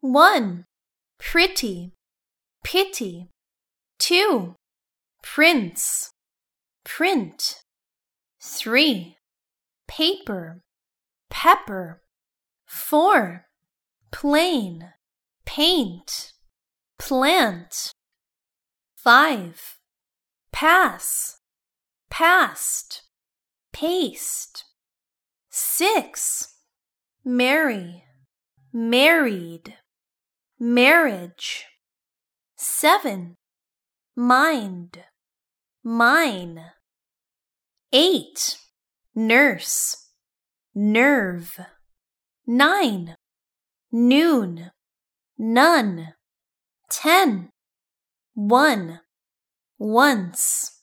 1. Pretty, pity. 2. Prince, print. 3. Paper, pepper. 4. Plain, paint, plant. 5. Pass, past, paste. 6. Marry, married, marriage. 7. Mind, mine. 8. Nurse, nerve. 9. Noon, none. 10. 1. Once.